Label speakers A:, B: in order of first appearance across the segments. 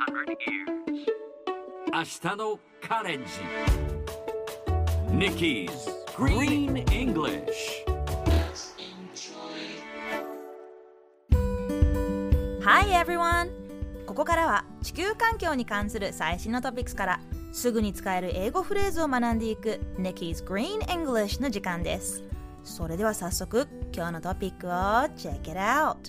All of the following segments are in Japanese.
A: 明日のカレンジ Nikki's Green English
B: Hi everyone! ここからは地球環境に関する最新のトピックスからすぐに使える英語フレーズを学んでいく Nikki's Green English の時間です。それでは早速今日のトピックを Check it out!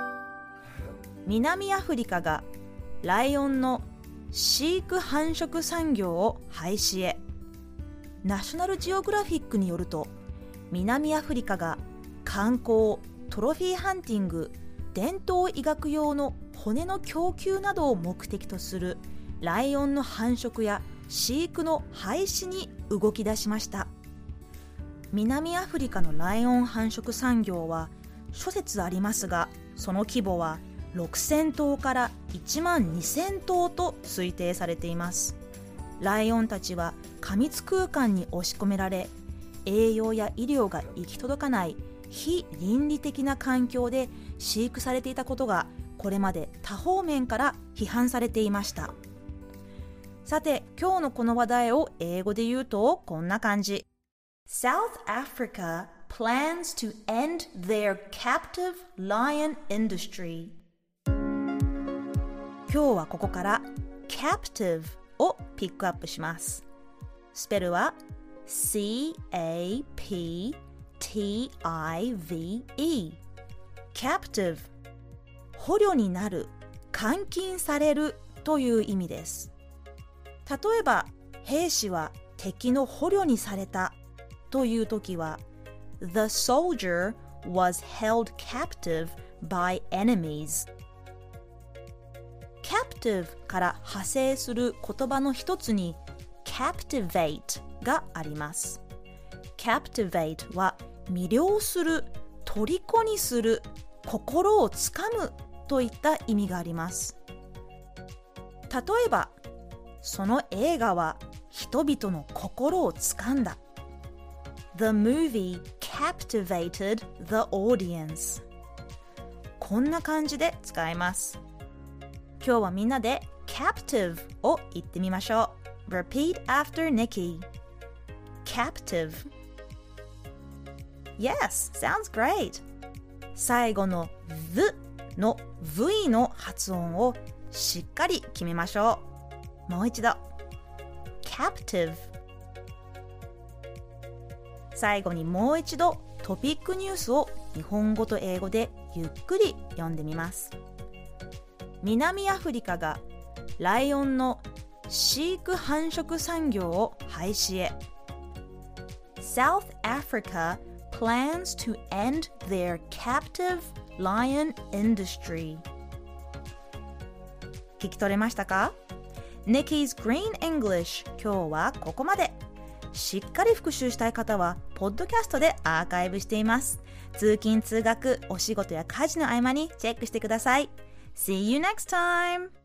B: 南アフリカがライオンの飼育繁殖産業を廃止へ。ナショナルジオグラフィックによると、南アフリカが観光、トロフィーハンティング、伝統医学用の骨の供給などを目的とするライオンの繁殖や飼育の廃止に動き出しました。南アフリカのライオン繁殖産業は諸説ありますが、その規模は6000頭から1万2000頭と推定されています。ライオンたちは過密空間に押し込められ、栄養や医療が行き届かない非倫理的な環境で飼育されていたことがこれまで多方面から批判されていました。さて、今日のこの話題を英語で言うとこんな感じ。South Africa plans to end their captive lion industry。今日はここから captive をピックアップします。スペルは C-A-P-T-I-V-E captive 捕虜になる、監禁されるという意味です。例えば兵士は敵の捕虜にされたというときは The soldier was held captive by enemies。captive から派生する言葉の一つに captivate があります。captivate は魅了する、虜にする、心をつかむといった意味があります。例えば、その映画は人々の心をつかんだ。The movie captivated the audience。こんな感じで使えます。今日はみんなで captive を言ってみましょう。Repeat after Nikki. Captive. Yes, sounds great. 最後の the の V の発音をしっかり決めましょう。もう一度。Captive。最後にもう一度トピックニュースを日本語と英語でゆっくり読んでみます。南アフリカがライオンの飼育繁殖産業を廃止へ。South Africa plans to end their captive lion industry。 聞き取れましたか？ Nikki's Green English 今日はここまで。しっかり復習したい方はポッドキャストでアーカイブしています。通勤通学、お仕事や家事の合間にチェックしてください。See you next time!